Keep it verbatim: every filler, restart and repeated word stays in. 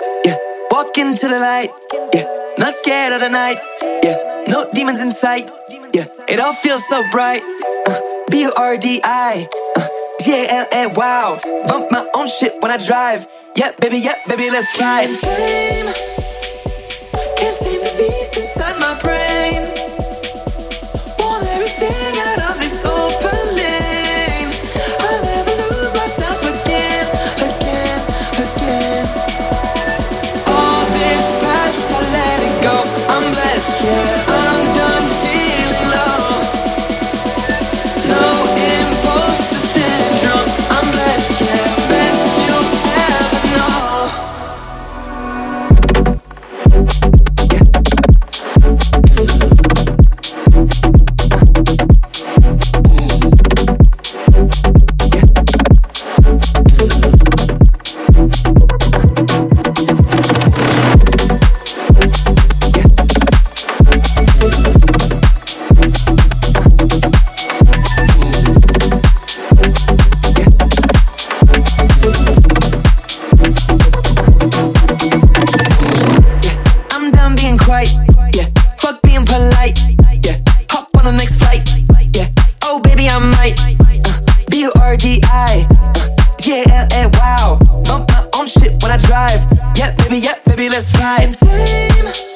Yeah, walk into the light. Yeah, not scared of the night. Yeah, no demons in sight. Yeah, it all feels so bright. Uh, B U R D I, uh, G A L A, wow. Bump my own shit when I drive. Yeah, baby, yeah, baby, let's ride. Can't tame, can't tame the beast inside my brain. Want everything out of this open lane. I'll never lose myself again, again, again. All this past, I let it go. I'm blessed, yeah, I'm done feeling low. No imposter syndrome. I'm blessed, yeah, best you'll ever know. I'm done being quiet, yeah. Fuck being polite, yeah. Hop on the next flight, yeah. Oh baby, I might, uh, B U R D I, uh, G A L A, wow. Bump my own shit when I drive, yeah baby, yeah baby, let's ride. Tame